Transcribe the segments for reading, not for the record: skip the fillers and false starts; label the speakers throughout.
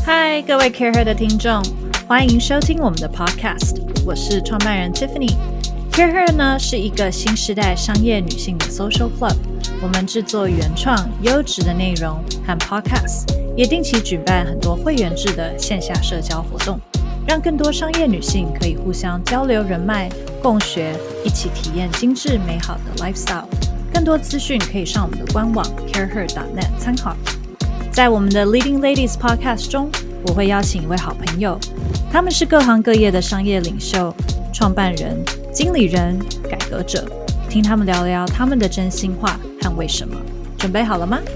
Speaker 1: 嗨，各位 CareHer 的听众，欢迎收听我们的 Podcast。我是创办人 Tiffany。CareHer 呢是一个新时代商业女性的 Social Club， 我们制作原创、优质的内容和 Podcast， 也定期举办很多会员制的线下社交活动，让更多商业女性可以互相交流人脉、共学，一起体验精致美好的 lifestyle。更多资讯可以上我们的官网 careher.net 参考。在我们的 Leading Ladies Podcast 中，我会邀请一位好朋友，他们是各行各业的商业领袖、创办人、经理人、改革者，听他们聊聊他们的真心话和为什么。准备好了吗？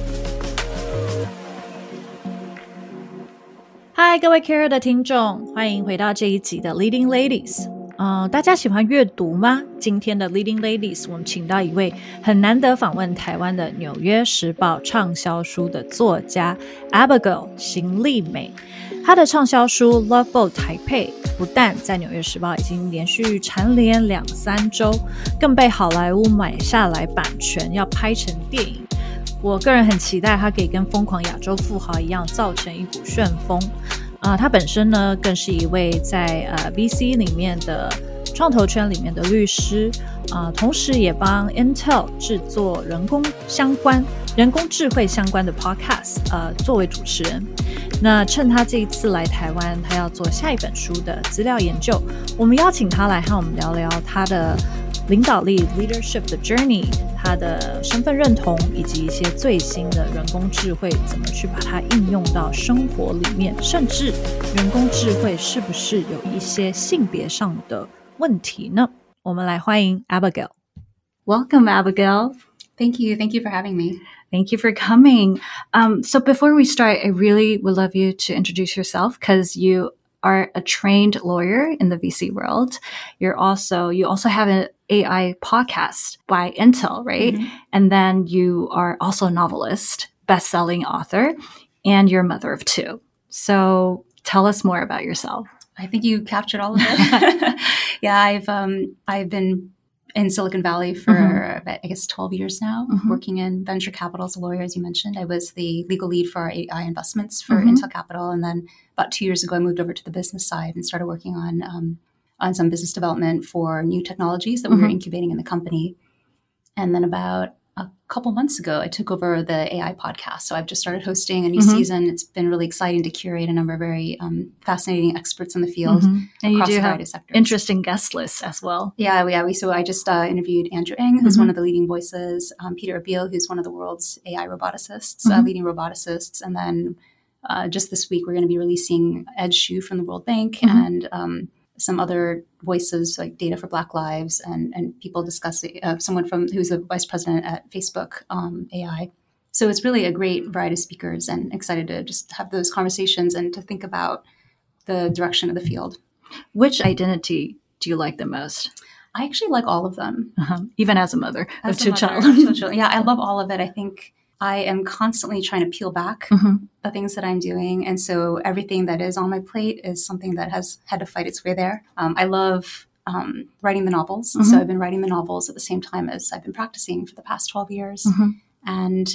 Speaker 1: 嗨，各位 CareHer 的听众，欢迎回到这一集的 Leading Ladies。大家喜欢阅读吗？今天的 Leading Ladies 我们请到一位很难得访问台湾的纽约时报畅销书的作家 Abigail 邢丽美。她的畅销书 Love Boat Taipei 不但在纽约时报已经连续蝉联2-3周，更被好莱坞买下来版权要拍成电影。我个人很期待它可以跟疯狂亚洲富豪一样造成一股旋风。他本身呢更是一位在VC 里面的创投圈里面的律师，同时也帮 Intel 制作人工智慧相关的 podcast， 作为主持人。那趁他这一次来台湾，他要做下一本书的资料研究，我们邀请他来和我们聊聊他的领导力 leadership 的 journey， 他的身份认同，以及一些最新的人工智慧怎么去把它应用到生活里面，甚至人工智慧是不是有一些性别上的问题呢？我们来欢迎 Abigail。 Welcome, Abigail.
Speaker 2: Thank you for having me.
Speaker 1: Thank you for coming. So before we start, I really would love you to introduce yourself, because you are a trained lawyer in the VC world. You also have an AI podcast by Intel, right? Mm-hmm. And then you are also a novelist, best-selling author, and you're a mother of 2. So tell us more about yourself.
Speaker 2: I think you captured all of it. Yeah, I've been in Silicon Valley for, I guess, 12 years now, working in venture capital as a lawyer, as you mentioned. I was the legal lead for our AI investments for Intel Capital. And then about 2 years ago, I moved over to the business side and started working on some business development for new technologies that we were incubating in the company. And then about a couple months ago, I took over the AI podcast. So I've just started hosting a new season. It's been really exciting to curate a number of very fascinating experts in the field
Speaker 1: and
Speaker 2: across
Speaker 1: you do
Speaker 2: a variety
Speaker 1: have
Speaker 2: of sectors.
Speaker 1: Interesting guest lists as well.
Speaker 2: So I just interviewed Andrew Ng, who's one of the leading voices, Peter Abil, who's one of the world's AI roboticists, leading roboticists. And then just this week, we're going to be releasing Ed Xu from the World Bank and some other voices like Data for Black Lives and people discussing someone who's the vice president at Facebook AI. So it's really a great variety of speakers, and excited to just have those conversations and to think about the direction of the field.
Speaker 1: Which identity do you like the most?
Speaker 2: I actually like all of them.
Speaker 1: Even as a mother of 2
Speaker 2: children. Yeah, I love all of it. I think I am constantly trying to peel back the things that I'm doing. And so everything that is on my plate is something that has had to fight its way there. I love writing the novels. So I've been writing the novels at the same time as I've been practicing for the past 12 years. And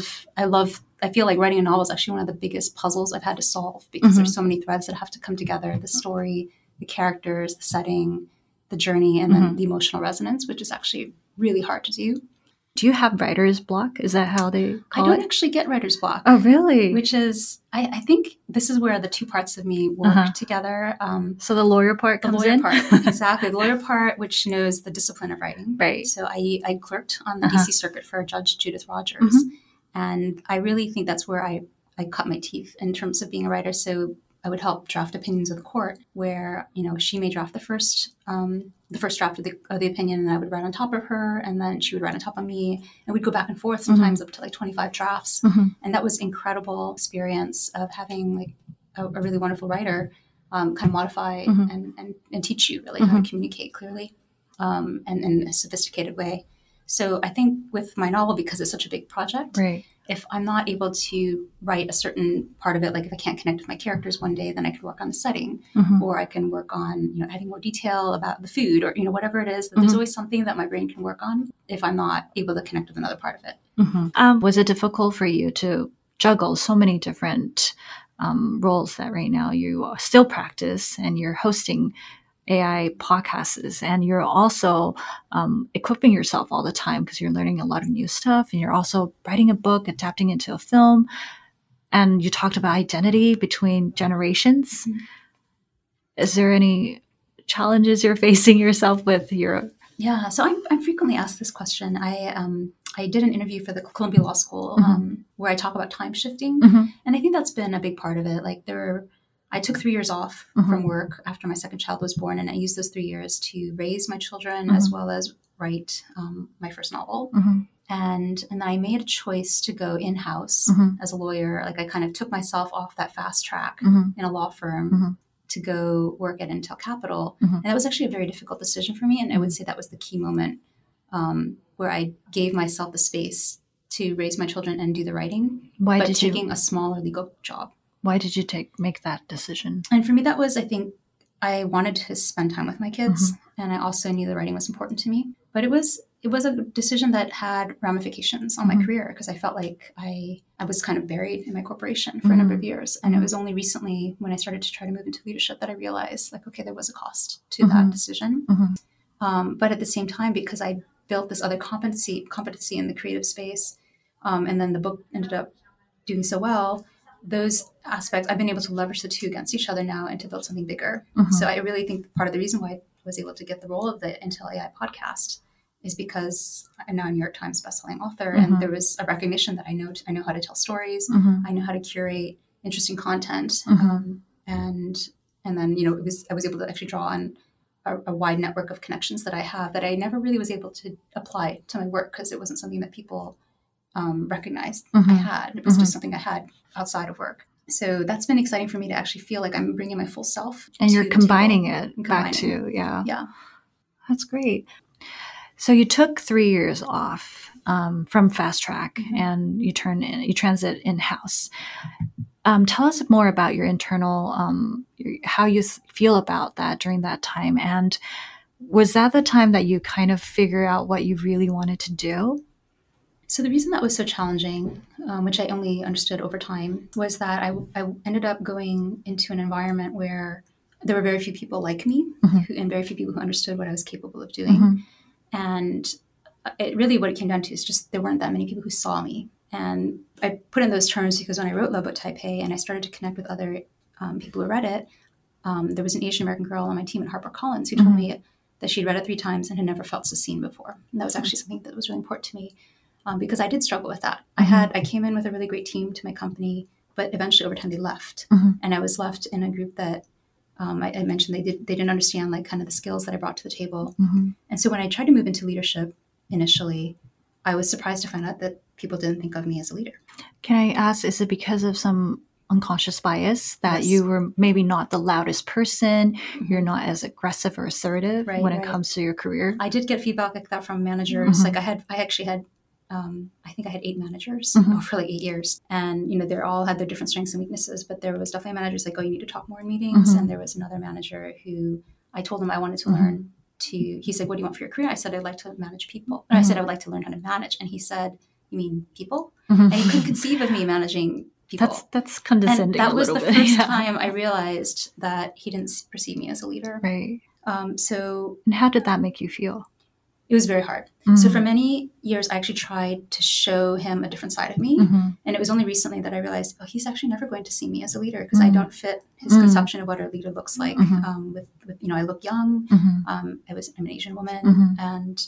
Speaker 2: I feel like writing a novel is actually one of the biggest puzzles I've had to solve, because there's so many threads that have to come together: the story, the characters, the setting, the journey, and then the emotional resonance, which is actually really hard to do.
Speaker 1: Do you have writer's block? Is that how they call it?
Speaker 2: I don't actually get writer's block.
Speaker 1: Oh, really?
Speaker 2: Which is, I think this is where the 2 parts of me work together.
Speaker 1: So the lawyer part comes in?
Speaker 2: The lawyer part, exactly. The lawyer part, which knows the discipline of writing.
Speaker 1: Right.
Speaker 2: So I clerked on the DC circuit for Judge Judith Rogers. And I really think that's where I cut my teeth in terms of being a writer. So I would help draft opinions of the court, where, she may draft the first draft of the opinion, and I would write on top of her, and then she would write on top of me, and we'd go back and forth, sometimes up to like 25 drafts. And that was incredible experience of having like a really wonderful writer kind of modify and teach you really how to communicate clearly and in a sophisticated way. So I think with my novel, because it's such a big project,
Speaker 1: right,
Speaker 2: if I'm not able to write a certain part of it, like if I can't connect with my characters one day, then I could work on the setting, or I can work on, adding more detail about the food, or, whatever it is. There's always something that my brain can work on if I'm not able to connect with another part of it.
Speaker 1: Was it difficult for you to juggle so many different roles that right now you still practice, and you're hosting AI podcasts, and you're also equipping yourself all the time because you're learning a lot of new stuff, and you're also writing a book, adapting into a film. And you talked about identity between generations. Mm-hmm. Is there any challenges you're facing yourself with your...
Speaker 2: Yeah, so I'm frequently asked this question. I did an interview for the Columbia Law School where I talk about time shifting. And I think that's been a big part of it. Like I took 3 years off from work after my second child was born, and I used those 3 years to raise my children as well as write my first novel. And then I made a choice to go in-house as a lawyer. Like I kind of took myself off that fast track in a law firm to go work at Intel Capital. And that was actually a very difficult decision for me. And I would say that was the key moment where I gave myself the space to raise my children and do the writing. But taking a smaller legal job.
Speaker 1: Why did you make that decision?
Speaker 2: And for me, that was, I think, I wanted to spend time with my kids. And I also knew the writing was important to me. But it was a decision that had ramifications on my career, because I felt like I was kind of buried in my corporation for a number of years. And it was only recently when I started to try to move into leadership that I realized, like, okay, there was a cost to that decision. But at the same time, because I built this other competency in the creative space, and then the book ended up doing so well, those aspects, I've been able to leverage the two against each other now and to build something bigger. So I really think part of the reason why I was able to get the role of the Intel AI podcast is because I'm now a New York Times bestselling author, and there was a recognition that I know how to tell stories, I know how to curate interesting content, and then I was able to actually draw on a wide network of connections that I have that I never really was able to apply to my work because it wasn't something that people recognized I had. It was just something I had outside of work. So that's been exciting for me to actually feel like I'm bringing my full self.
Speaker 1: And you're combining it back to,
Speaker 2: Yeah.
Speaker 1: That's great. So you took 3 years off from Fast Track and you transit in-house. Tell us more about your internal, how you feel about that during that time. And was that the time that you kind of figure out what you really wanted to do?
Speaker 2: So the reason that was so challenging, which I only understood over time, was that I ended up going into an environment where there were very few people like me and very few people who understood what I was capable of doing. And what it came down to is just there weren't that many people who saw me. And I put in those terms because when I wrote Love Boat Taipei and I started to connect with other people who read it, there was an Asian American girl on my team at HarperCollins who told me that she'd read it 3 times and had never felt so seen before. And that was actually something that was really important to me. Because I did struggle with that. I came in with a really great team to my company, but eventually over time they left. And I was left in a group that I mentioned they didn't understand like kind of the skills that I brought to the table. And so when I tried to move into leadership initially, I was surprised to find out that people didn't think of me as a leader.
Speaker 1: Can I ask, is it because of some unconscious bias that you were maybe not the loudest person, you're not as aggressive or assertive when it comes to your career?
Speaker 2: I did get feedback like that from managers. Like I actually had I think I had 8 managers for like 8 years, and they all had their different strengths and weaknesses. But there was definitely managers like, "Oh, you need to talk more in meetings." And there was another manager who I told him I wanted to learn to. He said, "What do you want for your career?" I said, "I'd like to manage people." And I said, "I would like to learn how to manage." And he said, "You mean people?" And he couldn't conceive of me managing people.
Speaker 1: That's condescending.
Speaker 2: And that was the first time I realized that he didn't perceive me as a leader.
Speaker 1: Right.
Speaker 2: So,
Speaker 1: and how did that make you feel?
Speaker 2: It was very hard. So for many years, I actually tried to show him a different side of me. And it was only recently that I realized, he's actually never going to see me as a leader because I don't fit his conception of what a leader looks like. With I look young. I'm an Asian woman. And,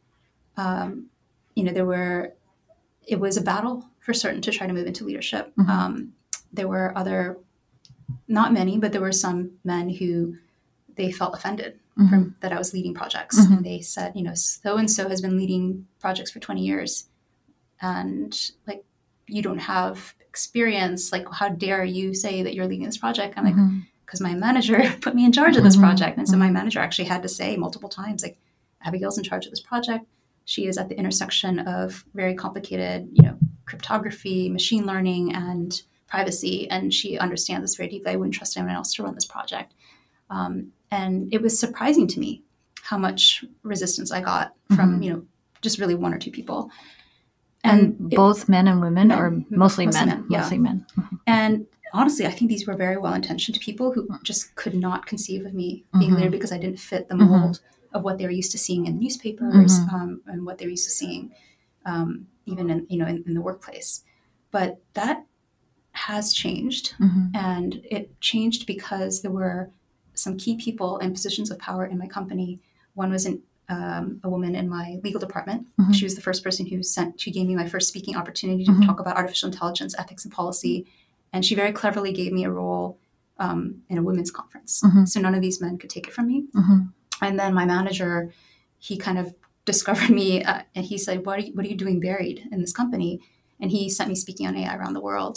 Speaker 2: it was a battle for certain to try to move into leadership. There were not many, but there were some men who they felt offended from that I was leading projects. And they said, so-and-so has been leading projects for 20 years. And like, you don't have experience. Like, how dare you say that you're leading this project? I'm like, because my manager put me in charge of this project. And so my manager actually had to say multiple times, like, Abigail's in charge of this project. She is at the intersection of very complicated, cryptography, machine learning, and privacy. And she understands this very deeply. I wouldn't trust anyone else to run this project. And it was surprising to me how much resistance I got from, just really 1 or 2 people.
Speaker 1: And both men and women, or mostly men?
Speaker 2: Yeah.
Speaker 1: Mostly men.
Speaker 2: And honestly, I think these were very well-intentioned people who just could not conceive of me being a leader because I didn't fit the mold of what they were used to seeing in newspapers and what they're used to seeing even in the workplace. But that has changed, and it changed because there were some key people in positions of power in my company. One was a woman in my legal department. She was the first person she gave me my first speaking opportunity to talk about artificial intelligence, ethics, and policy. And she very cleverly gave me a role in a women's conference. So none of these men could take it from me. And then my manager, he kind of discovered me and he said, what are you doing buried in this company? And he sent me speaking on AI around the world.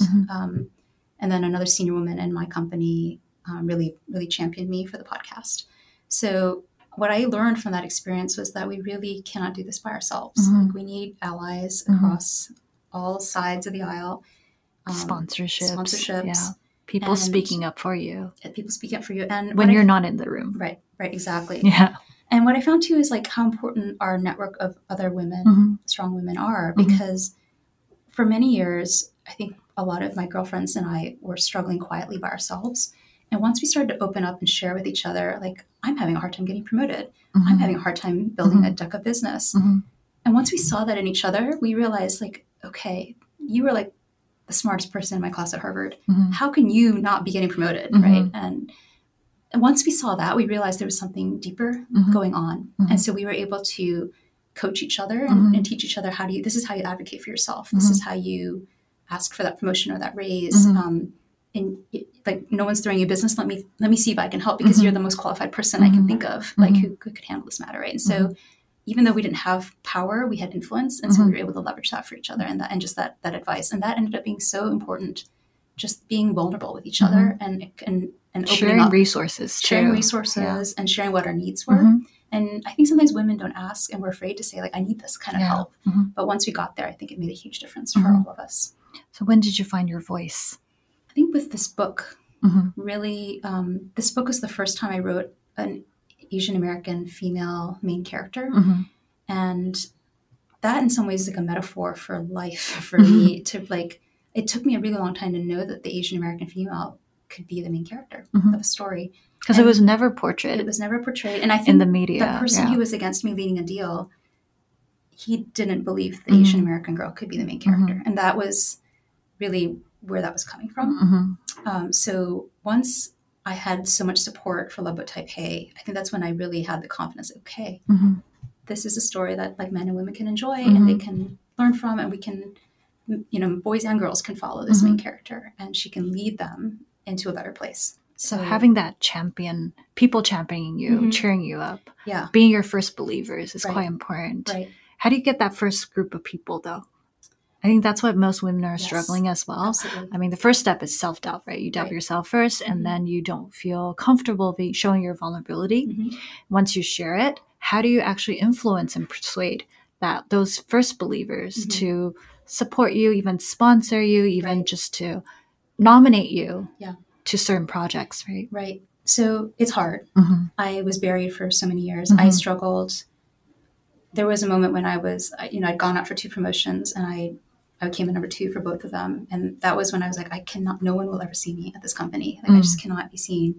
Speaker 2: And then another senior woman in my company really, really championed me for the podcast. So what I learned from that experience was that we really cannot do this by ourselves. Like, we need allies across all sides of the aisle.
Speaker 1: Sponsorships. Yeah. People speaking up for you.
Speaker 2: People speaking up for you. And
Speaker 1: when you're not in the room.
Speaker 2: Right, exactly.
Speaker 1: Yeah.
Speaker 2: And what I found too is like how important our network of other women, strong women are, because for many years, I think a lot of my girlfriends and I were struggling quietly by ourselves. And once we started to open up and share with each other, like, I'm having a hard time getting promoted. I'm having a hard time building a deck of business. And once we saw that in each other, we realized, like, okay, you were like the smartest person in my class at Harvard. How can you not be getting promoted, right? And once we saw that, we realized there was something deeper going on. And so we were able to coach each other and teach each other this is how you advocate for yourself. This is how you ask for that promotion or that raise. And like, no one's throwing you business. Let me see if I can help, because you're the most qualified person I can think of, like, who could handle this matter, right? And so even though we didn't have power, we had influence. And so we were able to leverage that for each other and just that advice. And that ended up being so important, just being vulnerable with each other and
Speaker 1: sharing
Speaker 2: up,
Speaker 1: resources
Speaker 2: and sharing what our needs were. And I think sometimes women don't ask, and we're afraid to say, like, I need this kind of help. But once we got there, I think it made a huge difference for all of us.
Speaker 1: So when did you find your voice?
Speaker 2: I think with this book, really, this book was the first time I wrote an Asian American female main character. And that in some ways is like a metaphor for life for me. It took me a really long time to know that the Asian American female could be the main character of a story.
Speaker 1: Because it was never portrayed.
Speaker 2: It was never portrayed. And I think
Speaker 1: in the media,
Speaker 2: the person who was against me leading a deal, he didn't believe the Asian American girl could be the main character. And that was really where that was coming from. So once I had so much support for Love Boat Taipei, I think that's when I really had the confidence, okay, this is a story that, like, men and women can enjoy and they can learn from, and we can, boys and girls can follow this main character, and she can lead them into a better place.
Speaker 1: So having that people championing you, cheering you up, being your first believers is quite important.
Speaker 2: Right.
Speaker 1: How do you get that first group of people, though? I think that's what most women are struggling as well.
Speaker 2: Absolutely.
Speaker 1: I mean, the first step is self-doubt, right? You doubt yourself first, and then you don't feel comfortable showing your vulnerability. Once you share it, how do you actually influence and persuade those first believers to support you, even sponsor you, even just to nominate you to certain projects, right?
Speaker 2: Right. So it's hard. I was buried for so many years. I struggled. There was a moment when I'd gone out for 2 promotions, and I came in number 2 for both of them. And that was when I was like, no one will ever see me at this company. Like, I just cannot be seen.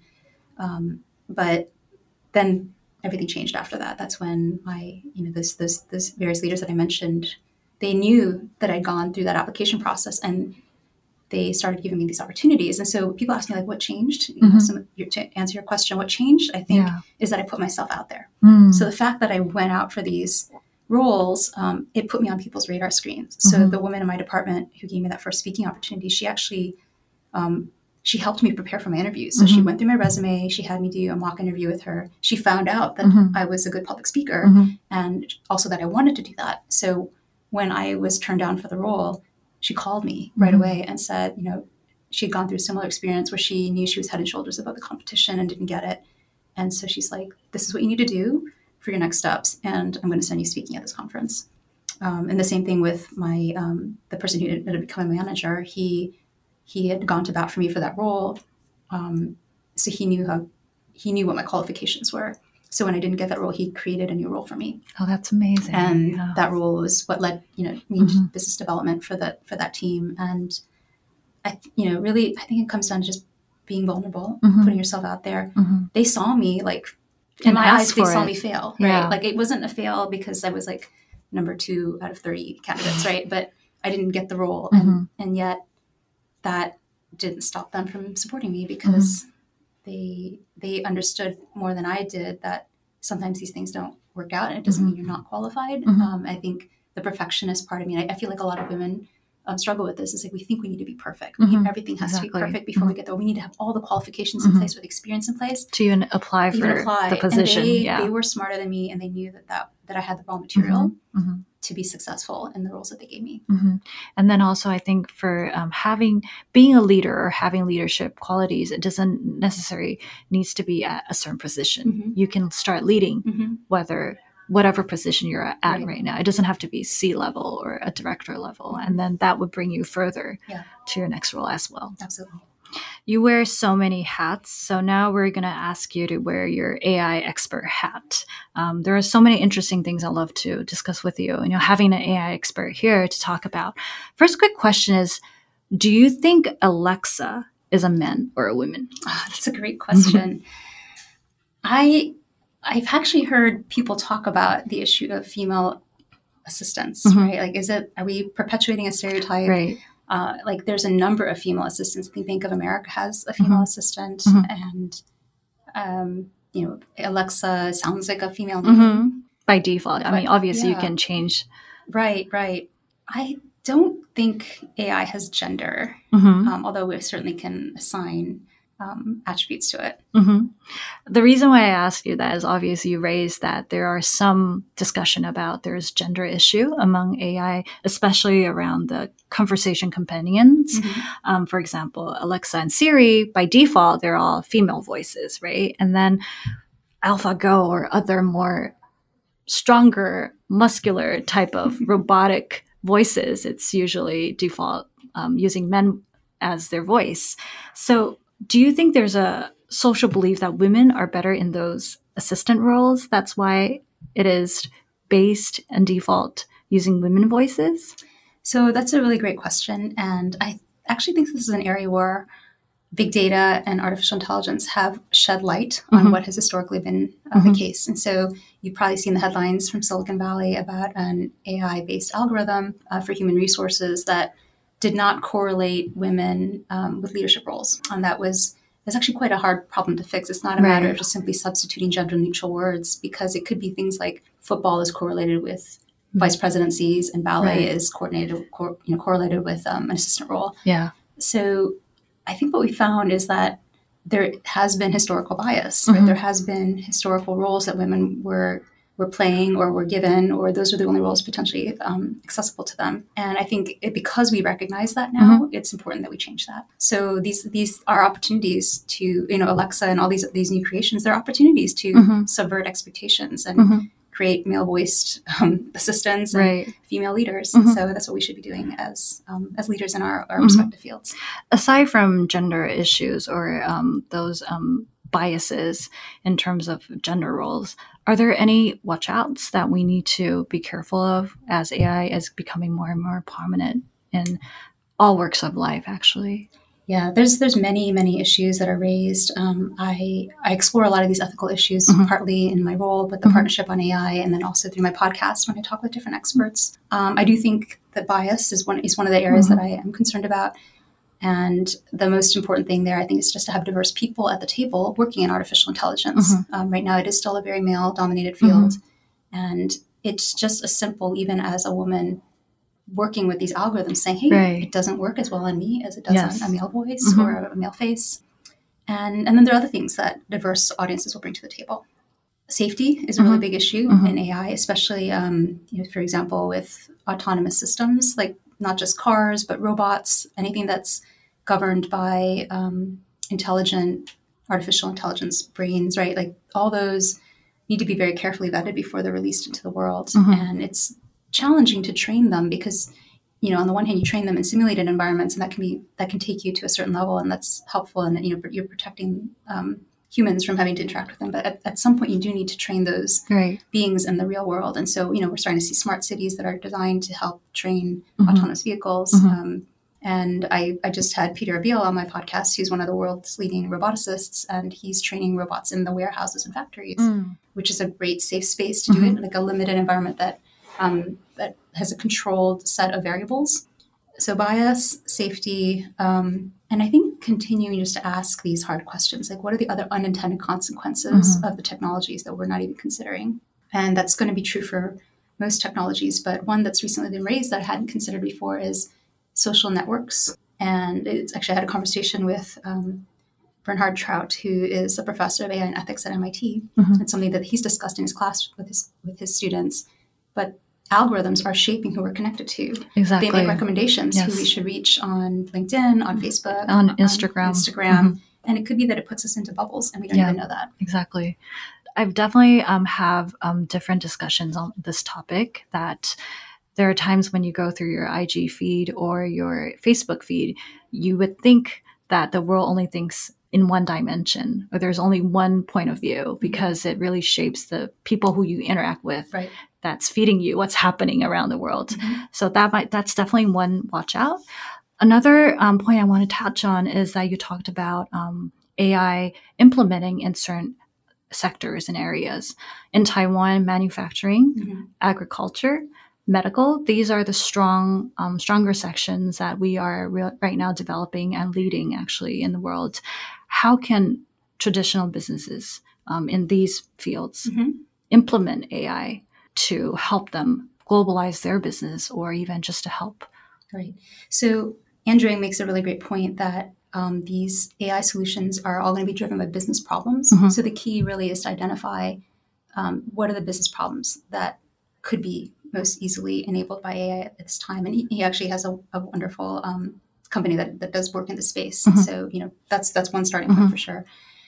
Speaker 2: But then everything changed after that. That's when those various leaders that I mentioned, they knew that I'd gone through that application process, and they started giving me these opportunities. And so people ask me, like, what changed? To answer your question, what changed, I think, is that I put myself out there. So the fact that I went out for these roles, it put me on people's radar screens. So the woman in my department who gave me that first speaking opportunity, she actually, she helped me prepare for my interviews. So she went through my resume. She had me do a mock interview with her. She found out that I was a good public speaker and also that I wanted to do that. So when I was turned down for the role, she called me right away and said, she'd gone through a similar experience where she knew she was head and shoulders above the competition and didn't get it. And so she's like, this is what you need to do for your next steps, and I'm going to send you speaking at this conference. And the same thing with my the person who ended up becoming a manager. He had gone to bat for me for that role, so he knew what my qualifications were. So when I didn't get that role, he created a new role for me.
Speaker 1: Oh, that's amazing!
Speaker 2: And that role was what led me to business development for that team. And really, I think it comes down to just being vulnerable,
Speaker 1: Mm-hmm.
Speaker 2: putting yourself out there.
Speaker 1: Mm-hmm.
Speaker 2: They saw me like, in
Speaker 1: And
Speaker 2: my
Speaker 1: asked
Speaker 2: eyes, they
Speaker 1: for
Speaker 2: saw
Speaker 1: it.
Speaker 2: me fail,
Speaker 1: Yeah.
Speaker 2: right? Like it wasn't a fail because I was like number 2 out of 30 candidates, right? But I didn't get the role.
Speaker 1: Mhm.
Speaker 2: And yet that didn't stop them from supporting me because they understood more than I did that sometimes these things don't work out, and it doesn't mean you're not qualified.
Speaker 1: Mhm.
Speaker 2: I think the perfectionist part of me, I feel like a lot of women struggle with this. It's like we think we need to be perfect.
Speaker 1: Mhm.
Speaker 2: Everything has
Speaker 1: Exactly.
Speaker 2: to be perfect before we get there. We need to have all the qualifications in place with experience in place
Speaker 1: To even apply for the position.
Speaker 2: And they were smarter than me, and they knew that I had the raw material
Speaker 1: Mhm.
Speaker 2: to be successful in the roles that they gave me.
Speaker 1: Mm-hmm. And then also, I think for being a leader or having leadership qualities, it doesn't necessarily needs to be at a certain position. You can start leading whatever position you're at right now. It doesn't have to be C-level or a director level, and then that would bring you further to your next role as well.
Speaker 2: Absolutely.
Speaker 1: You wear so many hats, so now we're going to ask you to wear your AI expert hat. There are so many interesting things I'd love to discuss with you. Having an AI expert here to talk about. First quick question is, do you think Alexa is a man or a woman?
Speaker 2: Oh, that's a great question. I've actually heard people talk about the issue of female assistants, right? Like, are we perpetuating a stereotype?
Speaker 1: Right.
Speaker 2: Like there's a number of female assistants. I think Bank of America has a female assistant, and Alexa sounds like a female name
Speaker 1: by default. I mean, obviously you can change.
Speaker 2: Right. I don't think AI has gender, although we certainly can assign attributes to it.
Speaker 1: The reason why I asked you that is obviously you raised that there are some discussion about there's gender issue among AI, especially around the conversation companions. For example, Alexa and Siri, by default, they're all female voices, right? And then AlphaGo or other more stronger, muscular type of robotic voices, it's usually default using men as their voice. So do you think there's a social belief that women are better in those assistant roles? That's why it is based and default using women voices?
Speaker 2: So that's a really great question. And I actually think this is an area where big data and artificial intelligence have shed light on what has historically been the case. And so you've probably seen the headlines from Silicon Valley about an AI-based algorithm for human resources that did not correlate women with leadership roles. And that's actually quite a hard problem to fix. It's not a matter of just simply substituting gender-neutral words, because it could be things like football is correlated with vice presidencies and ballet is correlated with an assistant role.
Speaker 1: Yeah.
Speaker 2: So I think what we found is that there has been historical bias. Right? There has been historical roles that women were playing or were given, or those were the only roles potentially accessible to them. And I think because we recognize that now, it's important that we change that. So these are opportunities to, Alexa and all these new creations, they're opportunities to subvert expectations and create male-voiced assistants and female leaders. So that's what we should be doing as leaders in our respective fields.
Speaker 1: Aside from gender issues or those biases in terms of gender roles, are there any watch outs that we need to be careful of as AI is becoming more and more prominent in all works of life, actually?
Speaker 2: Yeah, there's many issues that are raised. I explore a lot of these ethical issues, partly in my role with the Partnership on AI, and then also through my podcast when I talk with different experts. I do think that bias is one of the areas that I am concerned about. And the most important thing there, I think, is just to have diverse people at the table working in artificial intelligence. Right now, it is still a very male-dominated field. And it's just as simple, even as a woman working with these algorithms, saying, hey, it doesn't work as well on me as it does on a male voice or a male face. And then there are other things that diverse audiences will bring to the table. Safety is a really big issue in AI, especially, for example, with autonomous systems, like not just cars, but robots, anything that's governed by intelligent artificial intelligence brains, right? Like all those need to be very carefully vetted before they're released into the world. And it's challenging to train them because, on the one hand, you train them in simulated environments, and that can take you to a certain level, and that's helpful. And you're protecting humans from having to interact with them. But at some point, you do need to train those beings in the real world. And so, we're starting to see smart cities that are designed to help train autonomous vehicles. And I just had Peter Abiel on my podcast, who's one of the world's leading roboticists, and he's training robots in the warehouses and factories, which is a great safe space to do it, like a limited environment that has a controlled set of variables. So bias, safety, and I think continuing just to ask these hard questions, like what are the other unintended consequences of the technologies that we're not even considering? And that's going to be true for most technologies, but one that's recently been raised that I hadn't considered before is social networks. And it's actually, I had a conversation with Bernhard Trout, who is a professor of AI and ethics at MIT. It's something that he's discussed in his class with his students. But algorithms are shaping who we're connected to.
Speaker 1: Exactly.
Speaker 2: They make recommendations who we should reach on LinkedIn, on Facebook,
Speaker 1: on Instagram.
Speaker 2: And it could be that it puts us into bubbles and we don't even know that.
Speaker 1: Exactly. I've definitely have different discussions on this topic, that there are times when you go through your IG feed or your Facebook feed, you would think that the world only thinks in one dimension, or there's only one point of view, because it really shapes the people who you interact with.
Speaker 2: Right.
Speaker 1: That's feeding you what's happening around the world. So that's definitely one watch out. Another point I want to touch on is that you talked about AI implementing in certain sectors and areas. In Taiwan, manufacturing, agriculture, medical, these are the stronger sections that we are right now developing and leading actually in the world. How can traditional businesses in these fields implement AI to help them globalize their business, or even just to help?
Speaker 2: Right. So Andrea makes a really great point that these AI solutions are all going to be driven by business problems. So the key really is to identify what are the business problems that could be most easily enabled by AI at this time. And he actually has a wonderful company that does work in the space. So, that's one starting point for sure.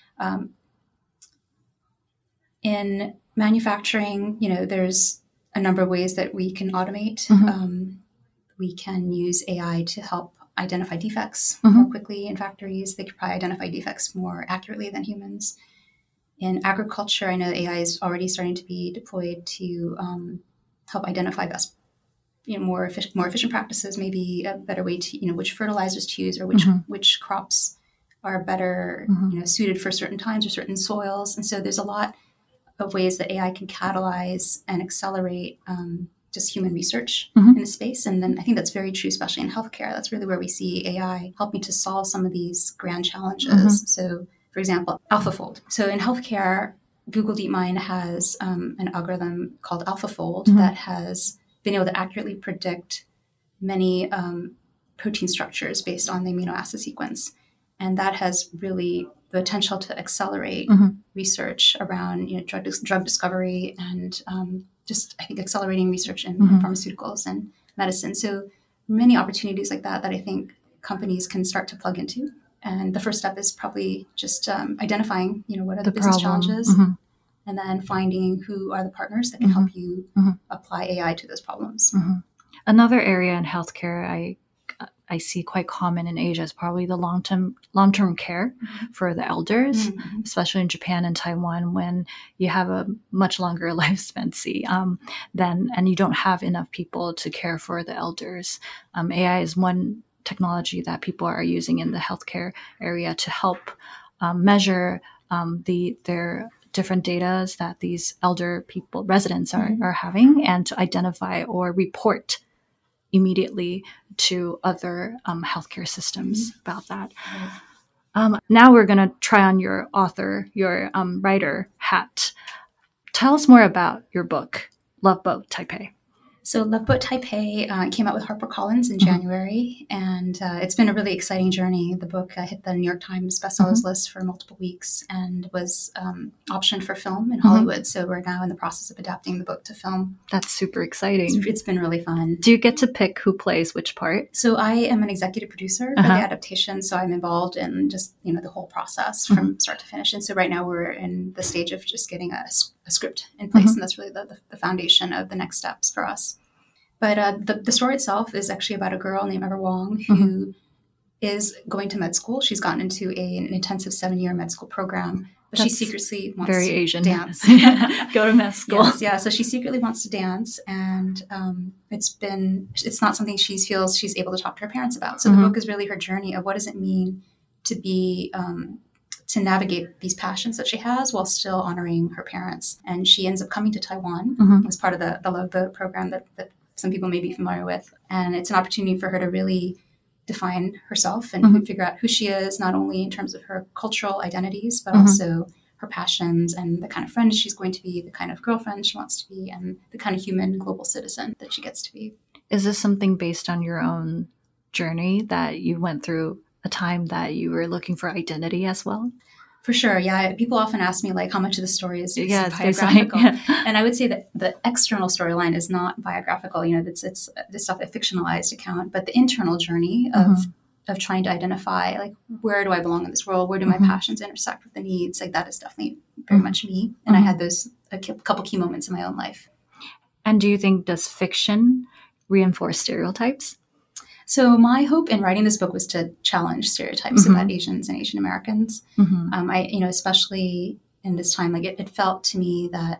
Speaker 2: In manufacturing, there's a number of ways that we can automate. We can use AI to help identify defects more quickly in factories. They could probably identify defects more accurately than humans. In agriculture, I know AI is already starting to be deployed to help identify best, more efficient practices, maybe a better way to, which fertilizers to use, or which crops are better, suited for certain times or certain soils. And so there's a lot of ways that AI can catalyze and accelerate just human research in the space. And then I think that's very true, especially in healthcare. That's really where we see AI helping to solve some of these grand challenges. So, for example, AlphaFold. So in healthcare, Google DeepMind has an algorithm called AlphaFold that has been able to accurately predict many protein structures based on the amino acid sequence. And that has really the potential to accelerate research around drug discovery and just, I think, accelerating research in pharmaceuticals and medicine. So many opportunities like that I think companies can start to plug into. And the first step is probably just identifying, what are the business challenges, and then finding who are the partners that can help you apply AI to those problems.
Speaker 1: Another area in healthcare I see quite common in Asia is probably the long-term care for the elders, especially in Japan and Taiwan, when you have a much longer life expectancy and you don't have enough people to care for the elders. AI is one technology that people are using in the healthcare area to help measure their different data that these elder people, residents are having, and to identify or report immediately to other healthcare systems about that. Now we're going to try on your writer hat. Tell us more about your book, Love Boat Taipei.
Speaker 2: So Love Boat Taipei came out with HarperCollins in January, and it's been a really exciting journey. The book hit the New York Times bestsellers list for multiple weeks and was optioned for film in Hollywood. So we're now in the process of adapting the book to film.
Speaker 1: That's super exciting.
Speaker 2: It's been really fun.
Speaker 1: Do you get to pick who plays which part?
Speaker 2: So I am an executive producer for the adaptation, so I'm involved in just the whole process from start to finish. And so right now we're in the stage of just getting a script in place, and that's really the foundation of the next steps for us. But the story itself is actually about a girl named Ever Wong who is going to med school. She's gotten into an intensive 7-year med school program, but she secretly wants
Speaker 1: very
Speaker 2: to
Speaker 1: Asian.
Speaker 2: dance.
Speaker 1: Go to med school.
Speaker 2: Yes, yeah. So she secretly wants to dance, and it's not something she feels she's able to talk to her parents about. So the book is really her journey of what does it mean to be to navigate these passions that she has while still honoring her parents. And she ends up coming to Taiwan as part of the Love Boat program that some people may be familiar with. And it's an opportunity for her to really define herself and figure out who she is, not only in terms of her cultural identities, but also her passions and the kind of friend she's going to be, the kind of girlfriend she wants to be, and the kind of human global citizen that she gets to be.
Speaker 1: Is this something based on your own journey that you went through a time that you were looking for identity as well?
Speaker 2: For sure, yeah. People often ask me how much of the story is
Speaker 1: biographical,
Speaker 2: and I would say that the external storyline is not biographical. It's the stuff, a fictionalized account, but the internal journey of trying to identify where do I belong in this world? Where do my passions intersect with the needs? That is definitely very much me. And I had a couple key moments in my own life.
Speaker 1: And do you think does fiction reinforce stereotypes?
Speaker 2: So my hope in writing this book was to challenge stereotypes about Asians and Asian Americans. I, especially in this time, it felt to me that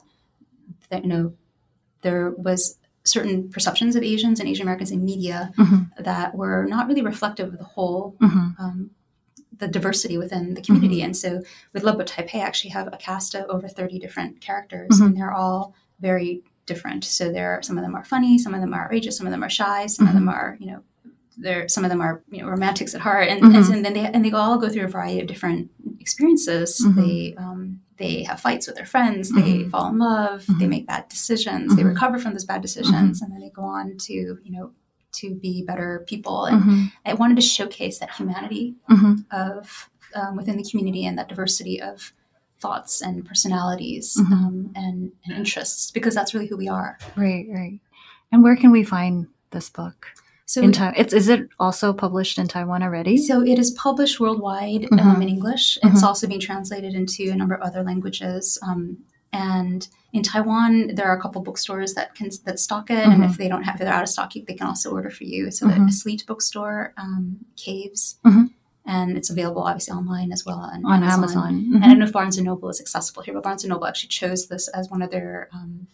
Speaker 2: there was certain perceptions of Asians and Asian Americans in media that were not really reflective of the whole, the diversity within the community. And so with Love Boat Taipei, I actually have a cast of over 30 different characters, and they're all very different. So some of them are funny, some of them are outrageous, some of them are shy, some of them are, some of them are romantics at heart, and then they all go through a variety of different experiences. They have fights with their friends. They fall in love. They make bad decisions. They recover from those bad decisions, and then they go on to be better people. And I wanted to showcase that humanity of within the community and that diversity of thoughts and personalities and interests, because that's really who we are.
Speaker 1: Right. And where can we find this book?
Speaker 2: So
Speaker 1: is it also published in Taiwan already?
Speaker 2: So it is published worldwide in English. It's also being translated into a number of other languages. And in Taiwan, there are a couple bookstores that stock it. And if they're out of stock, they can also order for you. So the Sleet bookstore, Caves, and it's available obviously online as well on Amazon. And I don't know if Barnes & Noble is accessible here, but Barnes & Noble actually chose this as one of their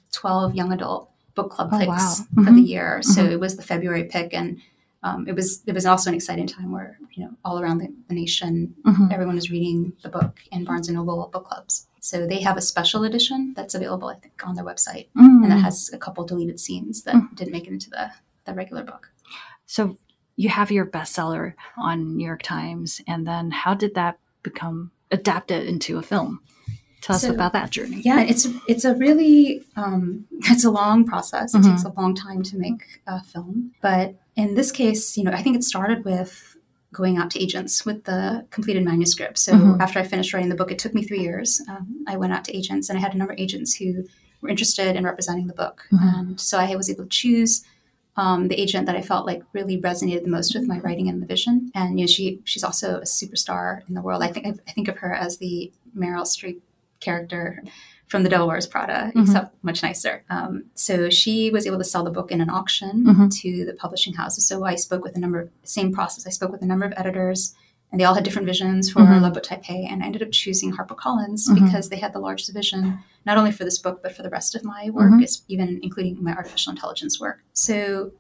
Speaker 2: 12 young adult book club picks for the year. So it was the February pick, and it was also an exciting time where all around the nation everyone was reading the book in Barnes & Noble book clubs. So they have a special edition that's available, I think, on their website, and that has a couple deleted scenes that didn't make it into the regular book.
Speaker 1: So you have your bestseller on New York Times, and then how did that become adapted into a film? Tell us about that journey.
Speaker 2: Yeah, it's a really it's a long process. It takes a long time to make a film. But in this case, I think it started with going out to agents with the completed manuscript. So after I finished writing the book, it took me 3 years. I went out to agents, and I had a number of agents who were interested in representing the book. And so I was able to choose the agent that I felt really resonated the most with my writing and the vision. And she's also a superstar in the world. I think of her as the Meryl Streep character from The Devil Wears Prada, except much nicer. So she was able to sell the book in an auction to the publishing houses. So I spoke with same process. I spoke with a number of editors, and they all had different visions for Love Boat Taipei. And I ended up choosing HarperCollins because they had the largest vision, not only for this book, but for the rest of my work, even including my artificial intelligence work. So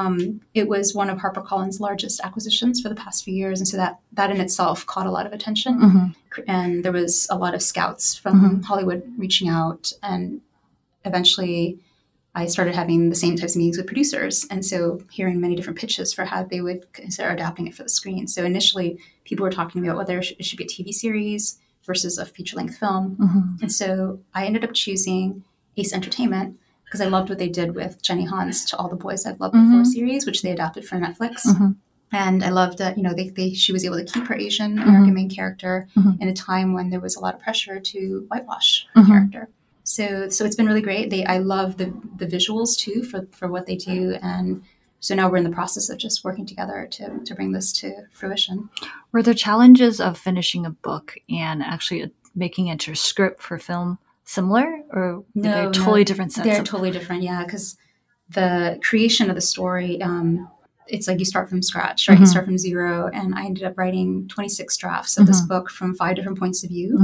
Speaker 2: it was one of HarperCollins' largest acquisitions for the past few years. And so that in itself caught a lot of attention. And there was a lot of scouts from Hollywood reaching out. And eventually I started having the same types of meetings with producers. And so hearing many different pitches for how they would consider adapting it for the screen. So initially people were talking about whether it should be a TV series versus a feature-length film. And so I ended up choosing Ace Entertainment because I loved what they did with Jenny Han's To All the Boys I've Loved Before series, which they adapted for Netflix. And I loved that, she was able to keep her Asian American main character in a time when there was a lot of pressure to whitewash her character. So it's been really great. I love the visuals too for what they do. And so now we're in the process of just working together to bring this to fruition.
Speaker 1: Were there challenges of finishing a book and actually making it into a script for film similar, or they're totally different sets?
Speaker 2: They're totally different, yeah, because the creation of the story, it's like you start from scratch, right? You start from zero. And I ended up writing 26 drafts of this book from 5 different points of view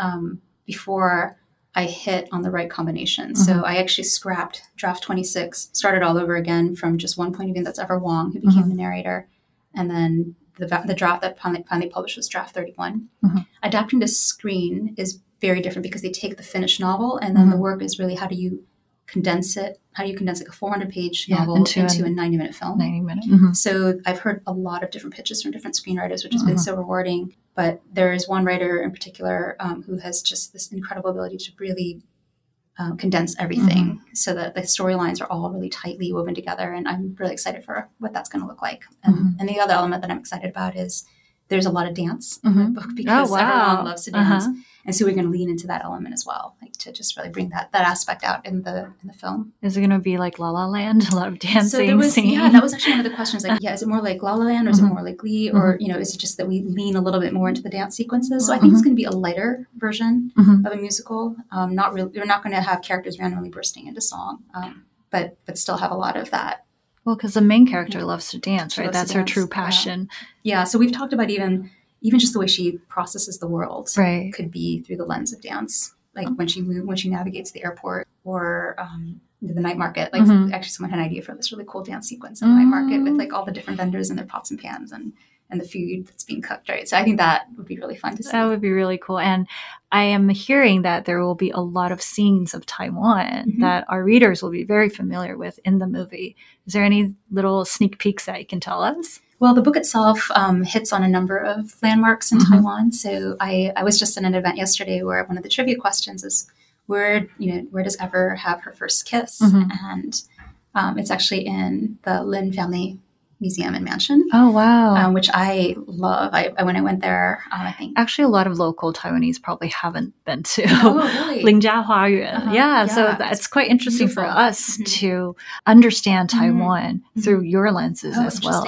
Speaker 2: before I hit on the right combination. So I actually scrapped draft 26, started all over again from just one point of view. That's Ever Wong, who became the narrator. And then the draft that finally published was draft 31. Adapting to screen is very different because they take the finished novel and then the work is really how do you condense it? How do you condense like a 400-page novel into a 90-minute film?
Speaker 1: 90-minute.
Speaker 2: So I've heard a lot of different pitches from different screenwriters, which has been so rewarding. But there is one writer in particular who has just this incredible ability to really condense everything so that the storylines are all really tightly woven together. And I'm really excited for what that's going to look like. And the other element that I'm excited about is there's a lot of dance in the book because everyone loves to dance. And so we're going to lean into that element as well, like to just really bring that aspect out in the film.
Speaker 1: Is it going to be like La La Land, a lot of dancing, singing?
Speaker 2: Yeah, that was actually one of the questions. Like, is it more like La La Land or is it more like Glee? Or, is it just that we lean a little bit more into the dance sequences? So I think it's going to be a lighter version of a musical. Not really, we're not going to have characters randomly bursting into song, but still have a lot of that.
Speaker 1: Well, because the main character loves to dance, right? That's her true passion.
Speaker 2: Yeah. So we've talked about even just the way she processes the world could be through the lens of dance. Like when she navigates the airport or the night market. Like actually someone had an idea for this really cool dance sequence in the night market with like all the different vendors and their pots and pans and the food that's being cooked, right? So I think that would be really fun to see.
Speaker 1: That would be really cool. And I am hearing that there will be a lot of scenes of Taiwan that our readers will be very familiar with in the movie. Is there any little sneak peeks that you can tell us?
Speaker 2: Well, the book itself hits on a number of landmarks in Taiwan. So I was just in an event yesterday where one of the trivia questions is where does Ever have her first kiss? And it's actually in the Lin family museum and mansion.
Speaker 1: Oh, wow.
Speaker 2: Which I love. When I went there, I think
Speaker 1: actually a lot of local Taiwanese probably haven't been to
Speaker 2: really?
Speaker 1: Lingjia Huayuan. So that's quite interesting beautiful. For us to understand Taiwan through your lenses as well.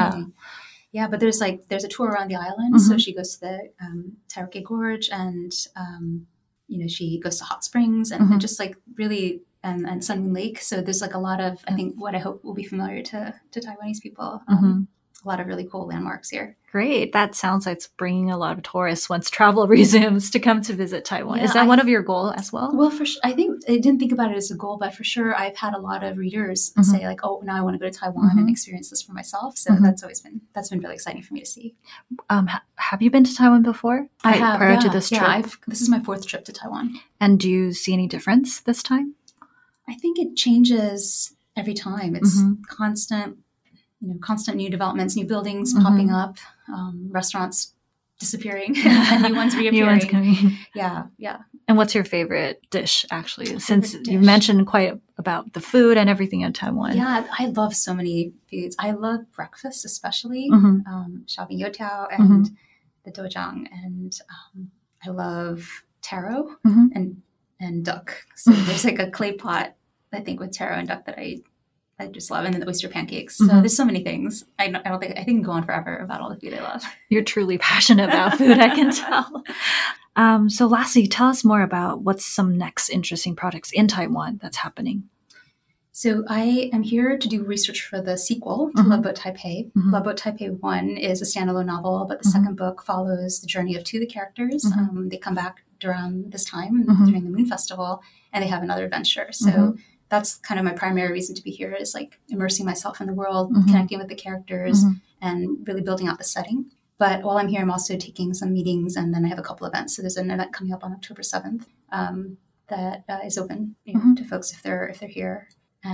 Speaker 2: Yeah, but there's a tour around the island. So she goes to the Taroke Gorge and she goes to hot springs and just like really and Sun Moon Lake. So there's like a lot of, I think what I hope will be familiar to Taiwanese people. A lot of really cool landmarks here.
Speaker 1: Great. That sounds like it's bringing a lot of tourists once travel resumes to come to visit Taiwan. Is that one of your goals as well?
Speaker 2: Well, I think I didn't think about it as a goal, but for sure I've had a lot of readers say like, oh, now I want to go to Taiwan and experience this for myself. So that's been really exciting for me to see.
Speaker 1: Have you been to Taiwan before?
Speaker 2: I have.
Speaker 1: Prior to this trip?
Speaker 2: Yeah, this is my 4th trip to Taiwan.
Speaker 1: And do you see any difference this time?
Speaker 2: I think it changes every time. It's constant new developments, new buildings popping up, restaurants disappearing, and new ones reappearing.
Speaker 1: New ones coming.
Speaker 2: Yeah.
Speaker 1: And what's your favorite dish, actually? Since you mentioned quite about the food and everything in Taiwan.
Speaker 2: Yeah, I love so many foods. I love breakfast, especially xiaobing youtiao and the dojang, and I love taro and duck. So there's like a clay pot, I think, with taro and duck that I just love, and then the oyster pancakes. So there's so many things. I can go on forever about all the food I love.
Speaker 1: You're truly passionate about food, I can tell. So lastly, tell us more about what's some next interesting projects in Taiwan that's happening.
Speaker 2: So I am here to do research for the sequel to Love Boat Taipei. Love Boat Taipei 1 is a standalone novel, but the second book follows the journey of 2 of the characters. They come back around this time during the Moon Festival, and they have another adventure. So that's kind of my primary reason to be here, is like immersing myself in the world, connecting with the characters, and really building out the setting. But while I'm here, I'm also taking some meetings, and then I have a couple events. So there's an event coming up on October 7th that is open to folks if they're here.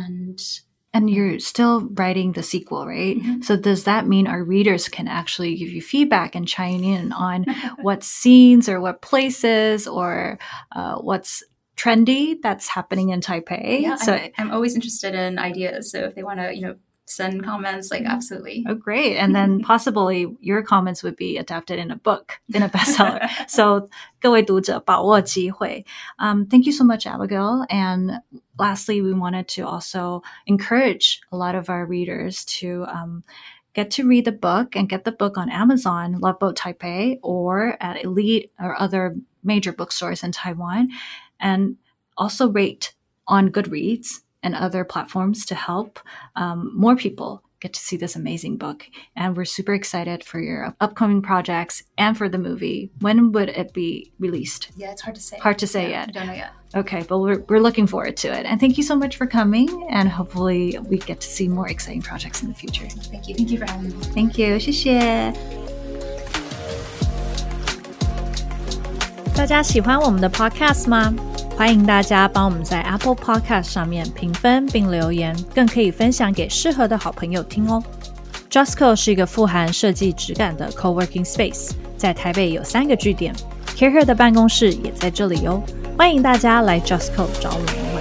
Speaker 1: And you're still writing the sequel, right? So does that mean our readers can actually give you feedback and chime in on what scenes or what places or what's trendy that's happening in Taipei?
Speaker 2: Yeah, so I'm always interested in ideas. So if they want to, send comments, like absolutely.
Speaker 1: Oh, great. And then possibly your comments would be adapted in a book, in a bestseller. So 各位读者把握机会. Thank you so much, Abigail. And lastly, we wanted to also encourage a lot of our readers to get to read the book and get the book on Amazon, Love Boat Taipei, or at Elite or other major bookstores in Taiwan. And also rate on Goodreads and other platforms to help more people get to see this amazing book. And we're super excited for your upcoming projects and for the movie. When would it be released?
Speaker 2: Yeah, it's hard to say.
Speaker 1: Hard to say yet.
Speaker 2: I don't know yet.
Speaker 1: Okay, but we're looking forward to it. And thank you so much for coming. And hopefully we get to see more exciting projects in the future.
Speaker 2: Thank you. Thank you for having me.
Speaker 1: Thank you. 谢谢。大家喜欢我们的 podcast 吗？欢迎大家帮我们在 Apple Podcast 上面评分并留言，更可以分享给适合的好朋友听哦。Justco 是一个富含设计质感的 coworking space， 在台北有3个据点 ，CareHer 的办公室也在这里哦。欢迎大家来 Justco 找我们。